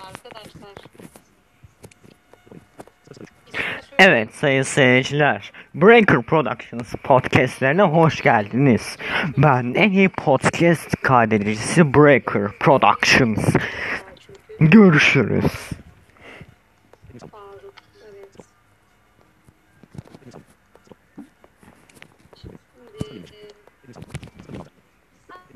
arkadaşlar. Evet sayın seyirciler, Breaker Productions podcastlerine hoş geldiniz. Ben en iyi podcast kaydedicisi Breaker Productions. Görüşürüz.